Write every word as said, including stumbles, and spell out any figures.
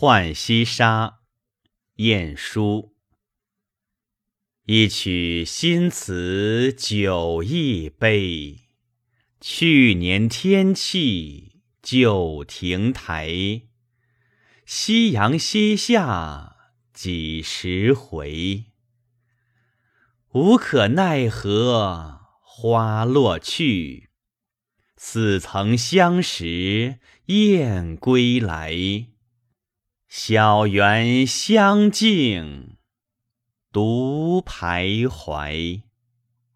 浣溪沙，晏殊。一曲新词酒亦悲，去年天气旧亭台。夕阳西下几时回？无可奈何花落去，似曾相识燕归来。小园香径独徘徊。